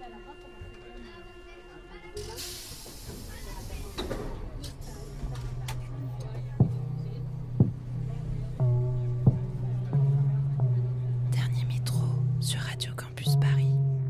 Dernier métro sur Radio Campus Paris.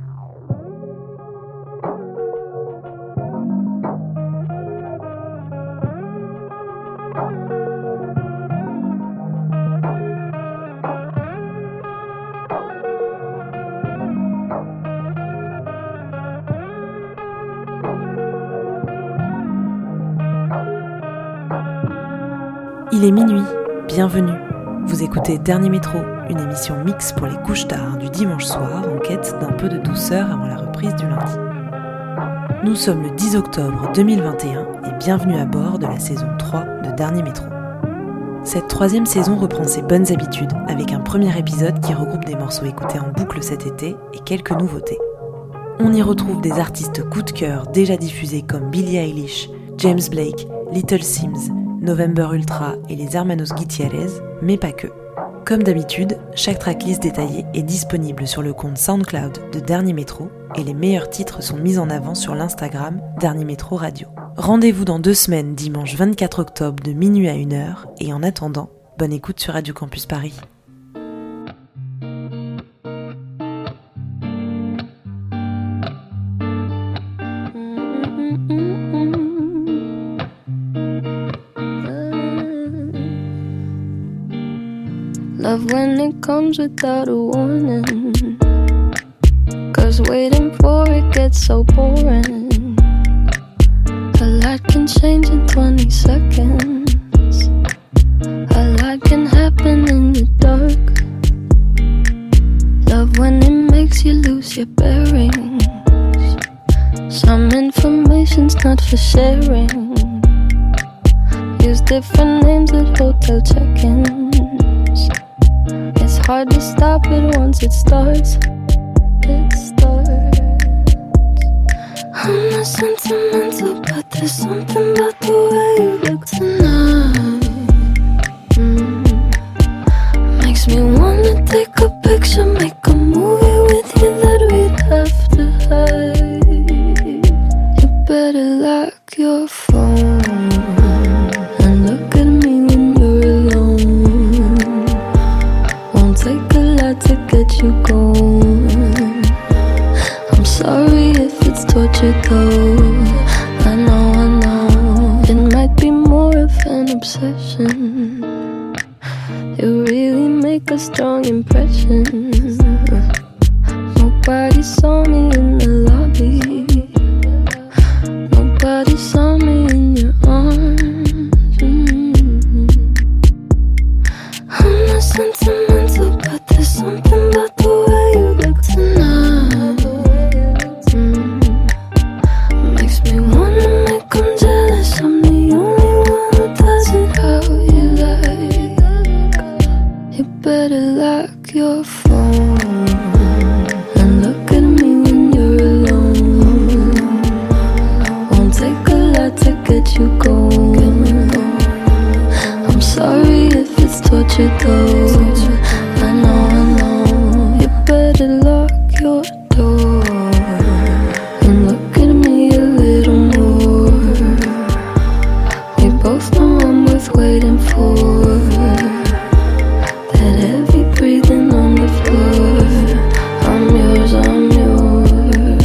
Il est minuit, bienvenue. Vous écoutez Dernier Métro, une émission mix pour les couches tard du dimanche soir en quête d'un peu de douceur avant la reprise du lundi. Nous sommes le 10 octobre 2021 et bienvenue à bord de la saison 3 de Dernier Métro. Cette troisième saison reprend ses bonnes habitudes avec un premier épisode qui regroupe des morceaux écoutés en boucle cet été et quelques nouveautés. On y retrouve des artistes coup de cœur déjà diffusés comme Billie Eilish, James Blake, Little Sims, November Ultra et les Hermanos Gutierrez, mais pas que. Comme d'habitude, chaque tracklist détaillée est disponible sur le compte SoundCloud de Dernier Métro et les meilleurs titres sont mis en avant sur l'Instagram Dernier Métro Radio. Rendez-vous dans 2 semaines, dimanche 24 octobre de minuit à 1h et en attendant, bonne écoute sur Radio Campus Paris. Love when it comes without a warning, 'cause waiting for it gets so boring. A lot can change in 20 seconds. A lot can happen in the dark. Love when it makes you lose your bearings. Some information's not for sharing. Use different names at hotel check-ins. It's hard to stop it once it starts. It starts. I'm not sentimental, but there's something about the way you look tonight. Makes me wanna take a picture, make a movie with you that we'd have to hide. You better lock your phone and look at me when you're alone. Won't take a lot to get you going. I'm sorry if it's torture though. I know it might be more of an obsession. You really make a strong impression. Nobody saw me in the lobby. Nobody saw me in your arms. I'm not sentimental, but there's something about the way you look tonight. Makes me wanna make 'em jealous. I'm the only one who does it how you like. You better lock your phone and look at me when you're alone. Won't take a lot to get you going. I'm sorry if it's torture though. I know. You better lock your door and look at me a little more. We both know I'm worth waiting for. That heavy breathing on the floor. I'm yours, I'm yours.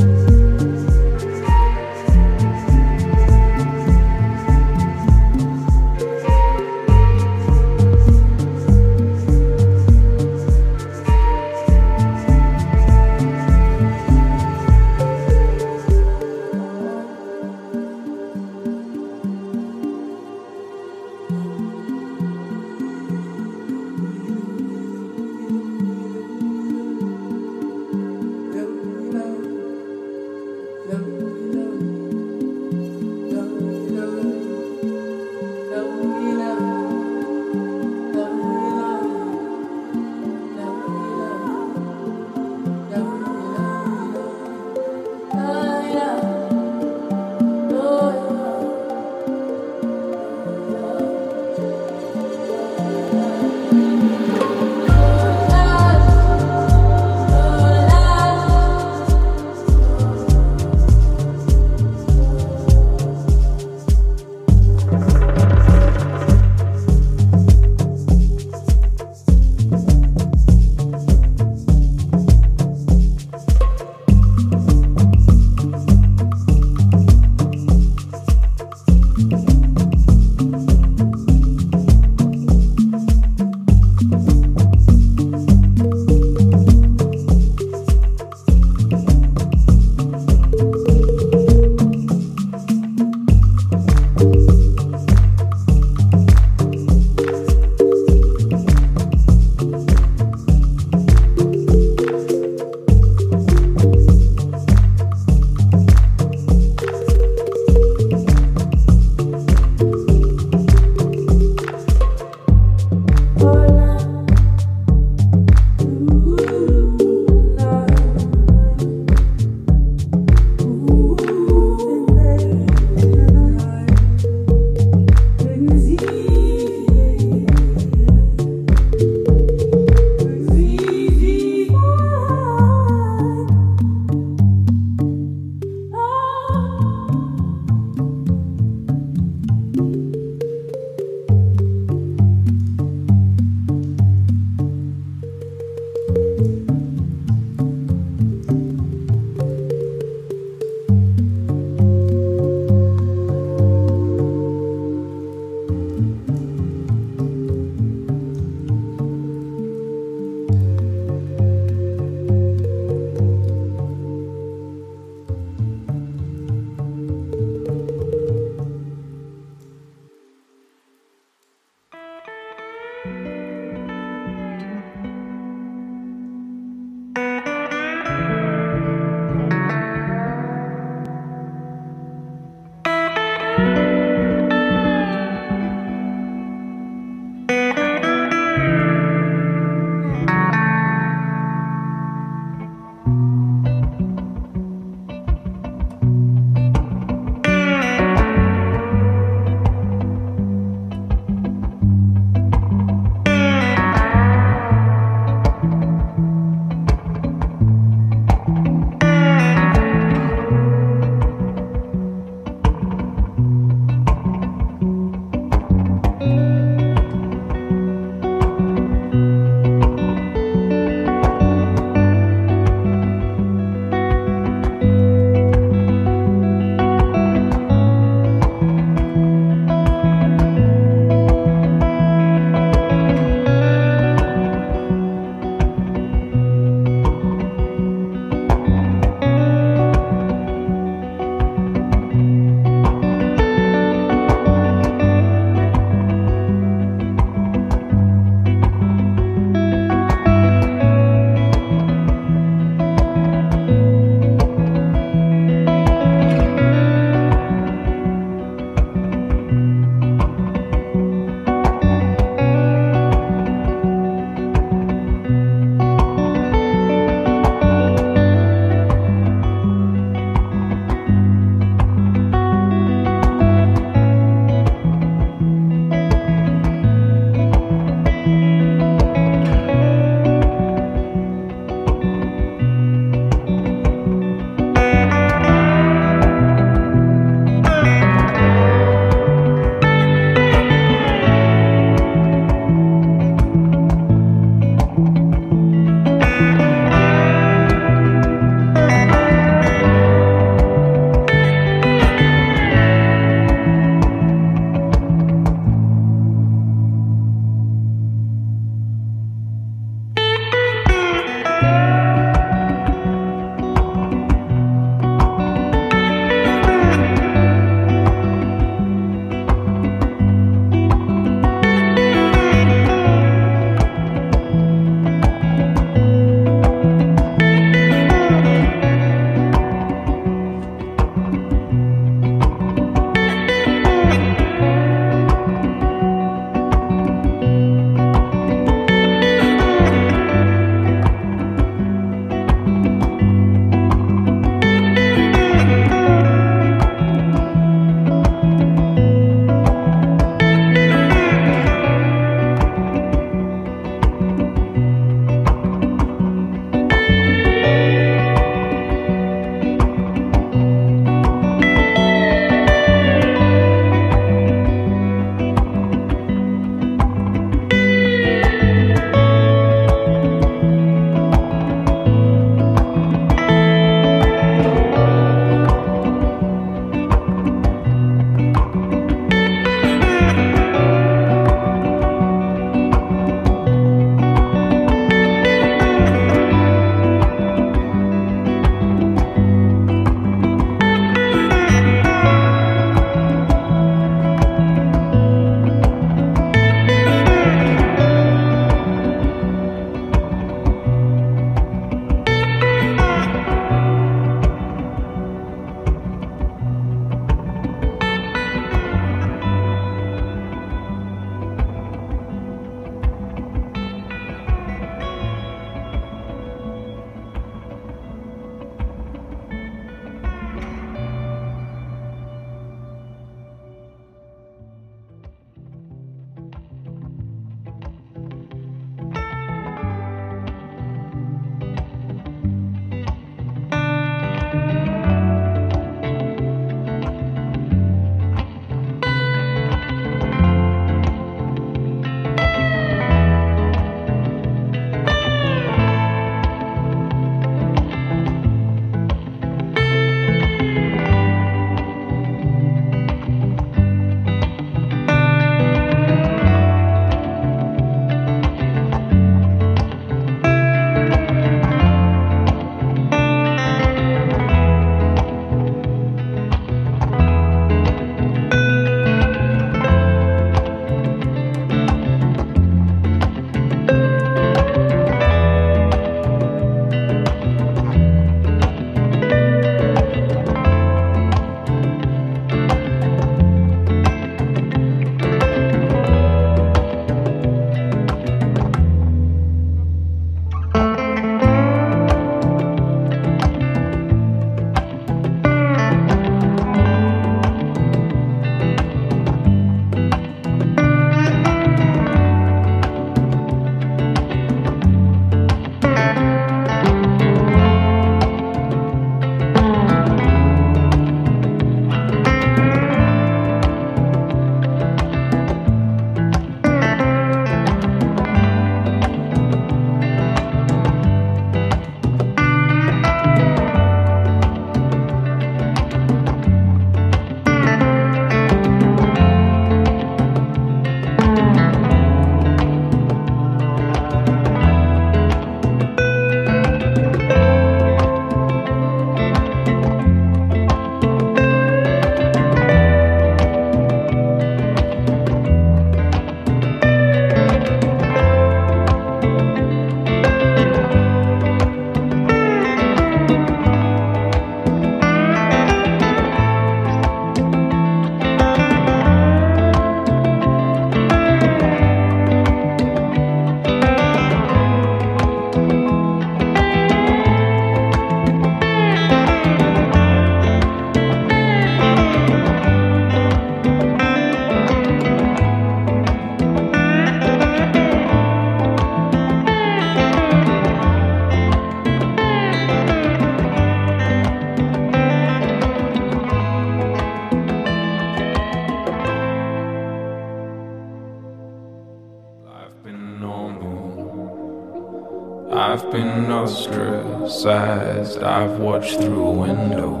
I've been ostracized, I've watched through a window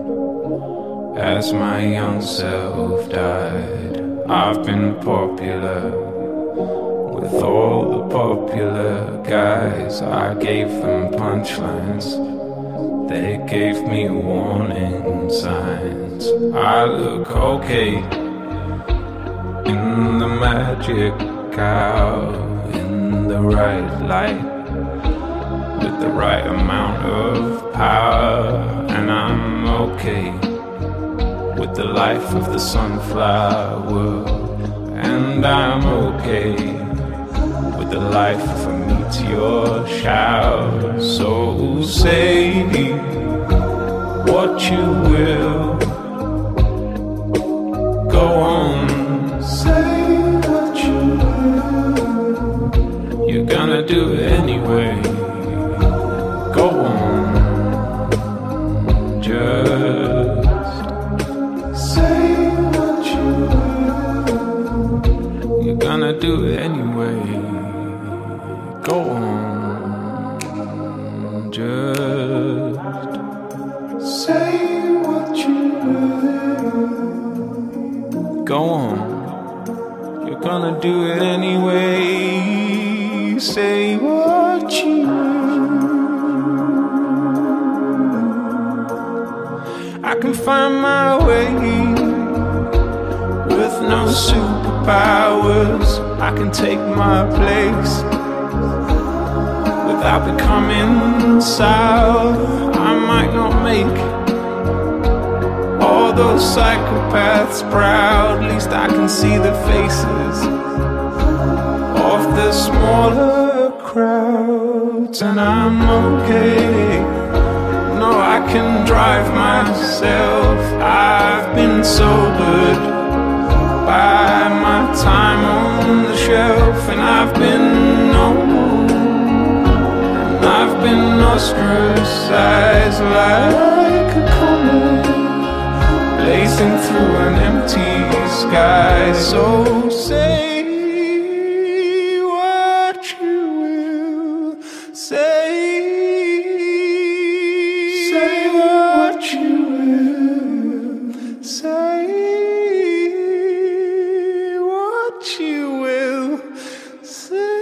as my young self died. I've been popular with all the popular guys. I gave them punchlines, they gave me warning signs. I look okay in the magic hour, in the right light, with the right amount of power. And I'm okay with the life of the sunflower, and I'm okay with the life of a meteor shower. So say what you will, go on, say what you will, you're gonna do it anyway. Go on, just say what you will, you're gonna do it anyway. Go on, just say what you will. Go on, you're gonna do it anyway. Say what you will. I can find my way with no superpowers. I can take my place without becoming sour. I might not make all those psychopaths proud. At least I can see the faces of the smaller crowds. And I'm okay, no, I can drive myself. I've been sobered by my time on the shelf, and I've been known, I've been ostracized like a comet blazing through an empty sky. So say what you will, say what you will, say what you will, say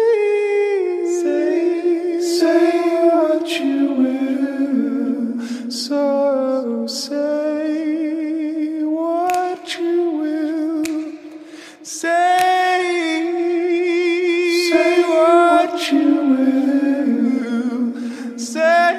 what you will. So say what you will, say what you will, say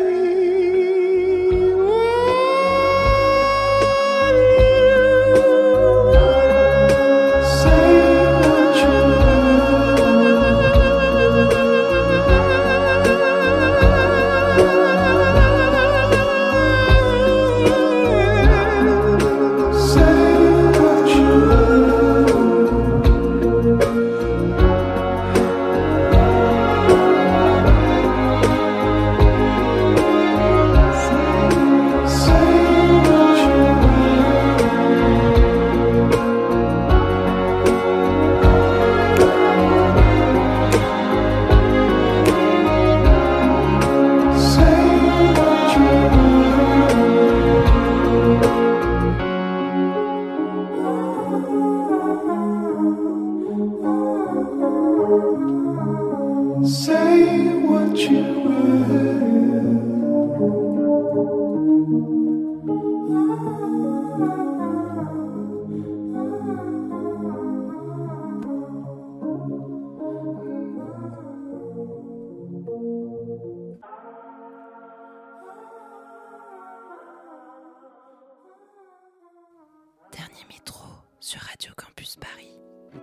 what you Dernier métro sur Radio Campus Paris.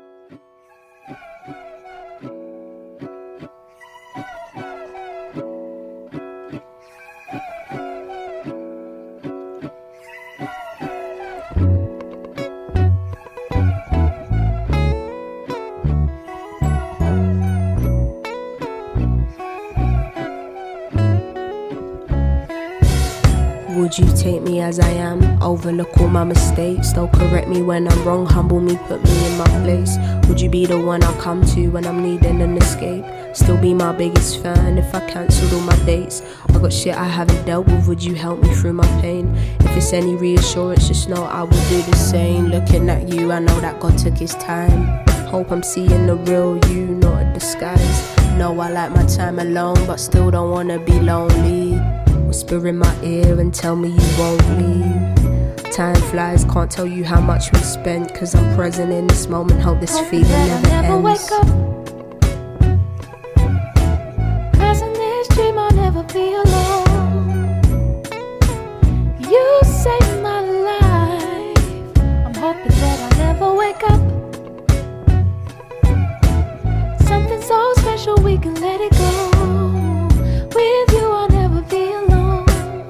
Would you take me as I am? Overlook all my mistakes, still correct me when I'm wrong, humble me, put me in my place. Would you be the one I come to when I'm needing an escape? Still be my biggest fan if I cancelled all my dates. I got shit I haven't dealt with, would you help me through my pain? If it's any reassurance, just know I will do the same. Looking at you, I know that God took his time. Hope I'm seeing the real you, not a disguise. Know I like my time alone, but still don't wanna be lonely. Whisper in my ear and tell me you won't leave. Time flies, can't tell you how much we spent, cause I'm present in this moment, hope this feeling never ends. Wake up. Cause in this dream I'll never be alone. You saved my life. I'm hoping that I never wake up. Something so special we can let it go. With you I'll never be alone.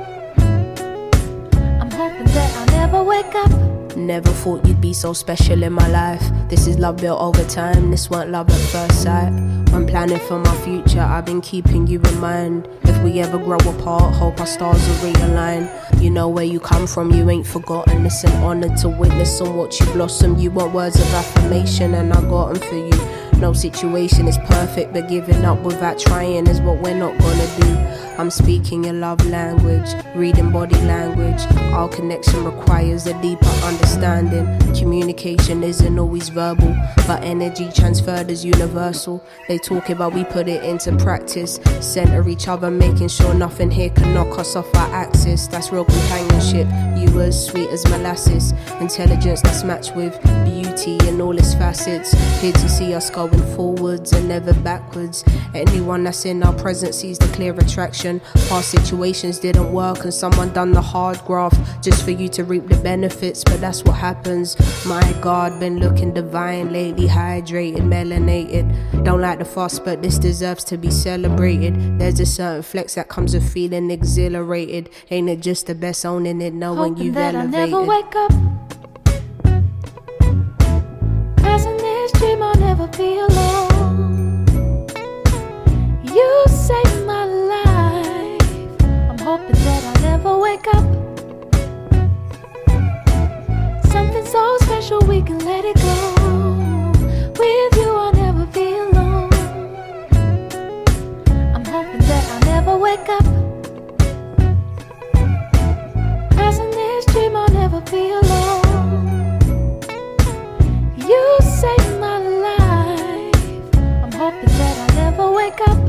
I'm hoping that I'll never wake up. Never thought you'd be so special in my life. This is love built over time, this weren't love at first sight. When planning for my future, I've been keeping you in mind. If we ever grow apart, hope our stars will realign. You know where you come from, you ain't forgotten. It's an honor to witness and watch you blossom. You want words of affirmation and I got them for you. No situation is perfect, but giving up without trying is what we're not gonna do. I'm speaking your love language, reading body language. Our connection requires a deeper understanding. Communication isn't always verbal, but energy transferred is universal. They talk about we put it into practice. Center each other, making sure nothing here can knock us off our axis. That's real companionship. You as sweet as molasses. Intelligence that's matched with beauty in all its facets. Here to see us going forwards and never backwards. Anyone that's in our presence sees the clear attraction. Past situations didn't work and someone done the hard graft just for you to reap the benefits, but that's what happens. My God, been looking divine lately, hydrated, melanated. Don't like the fuss, but this deserves to be celebrated. There's a certain flex that comes with feeling exhilarated. Ain't it just the best owning it, knowing hoping you've that elevated. I'll never wake up. Cause in this dream I'll never be alone. You saved my life. I'm hoping that I'll never wake up. Something so special we can let it go. With you I'll never be alone. I'm hoping that I'll never wake up. Cause in this dream I'll never be alone. You saved my life. I'm hoping that I'll never wake up.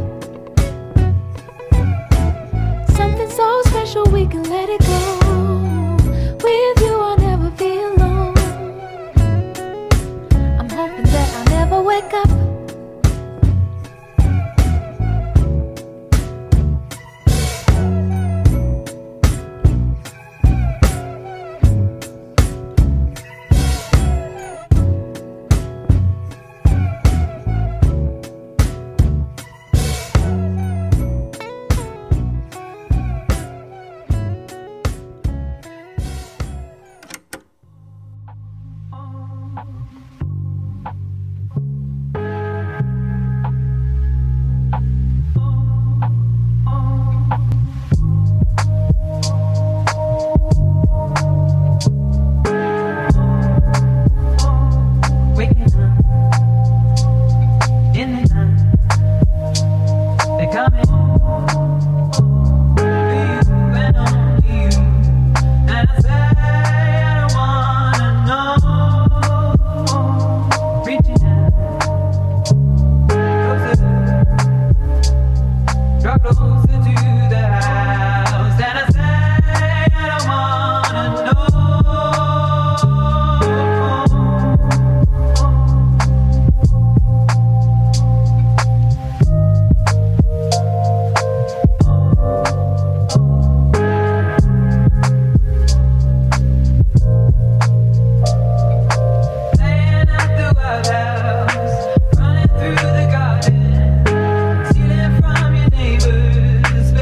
Something so special we can let it go. With you I'll never be alone. I'm hoping that I'll never wake up. Running through the garden, stealing from your neighbors.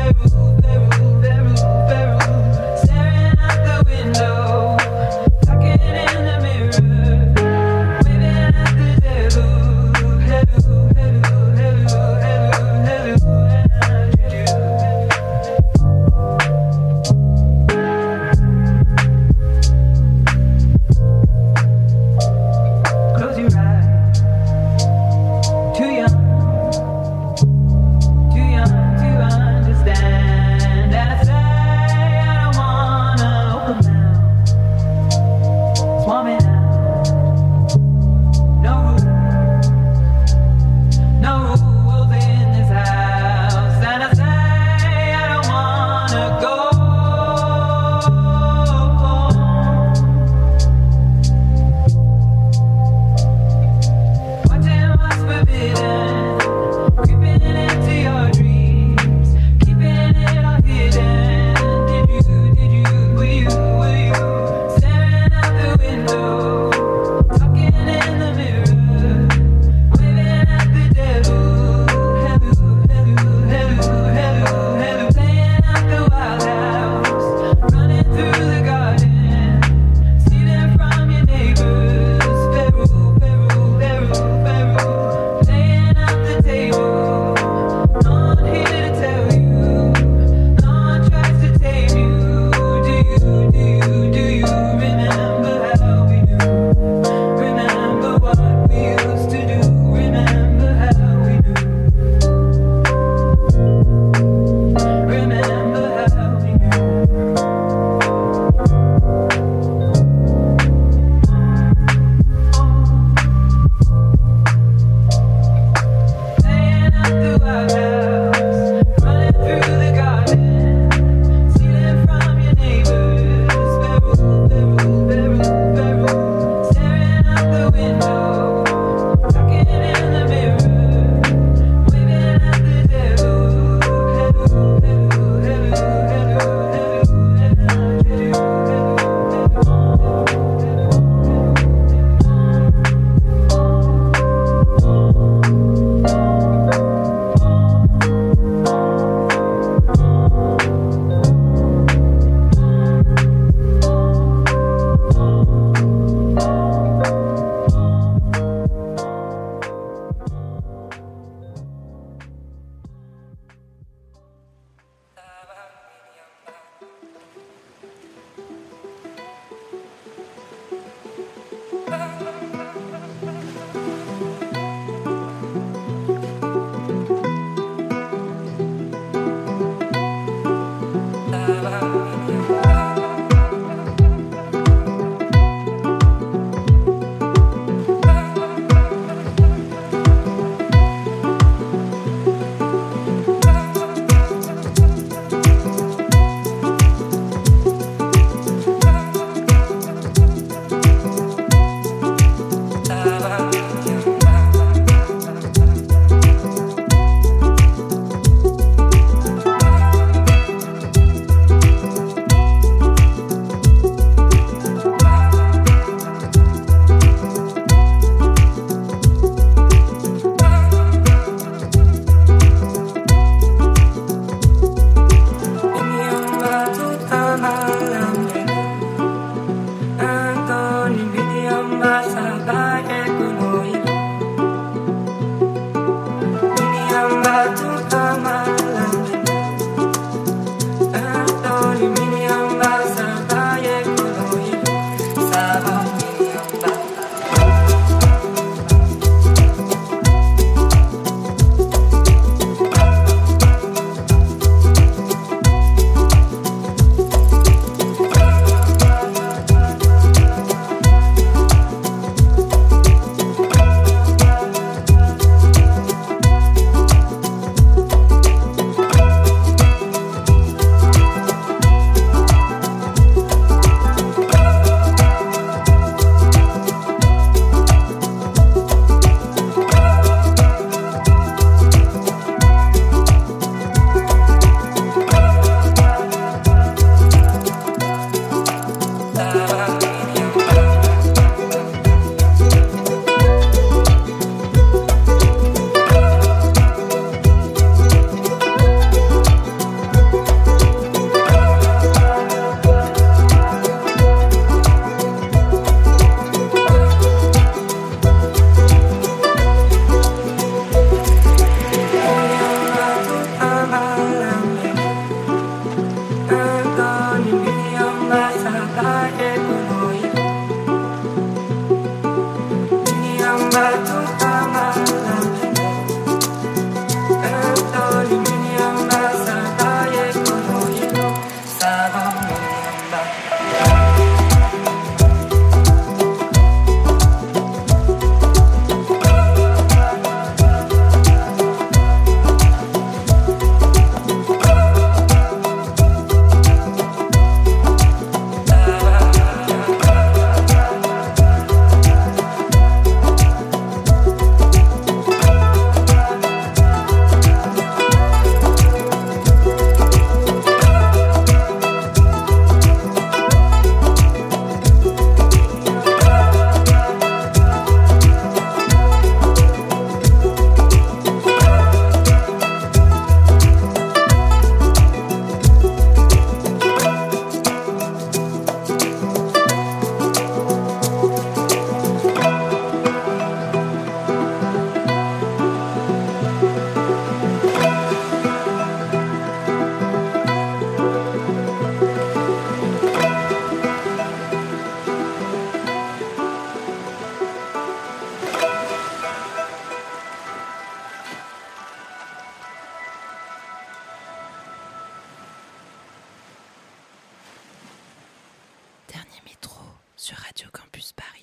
sur Radio Campus Paris.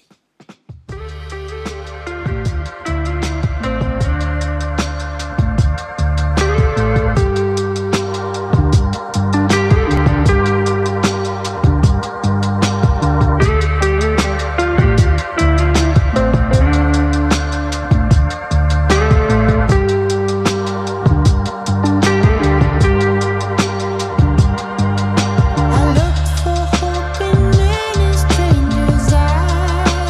I looked for hope in any stranger's eyes.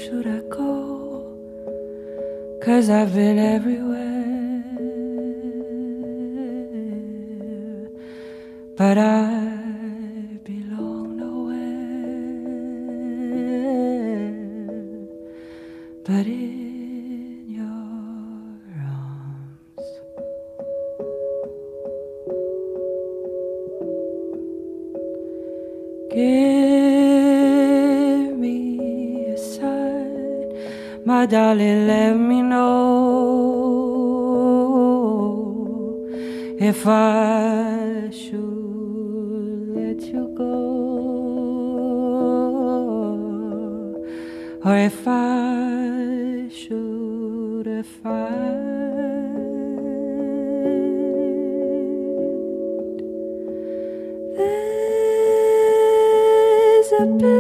should I go? 'Cause I've been everywhere, but I belong nowhere but in your arms. Give me a sign, my darling, let me know if I should let you go, or if I should find there's a bit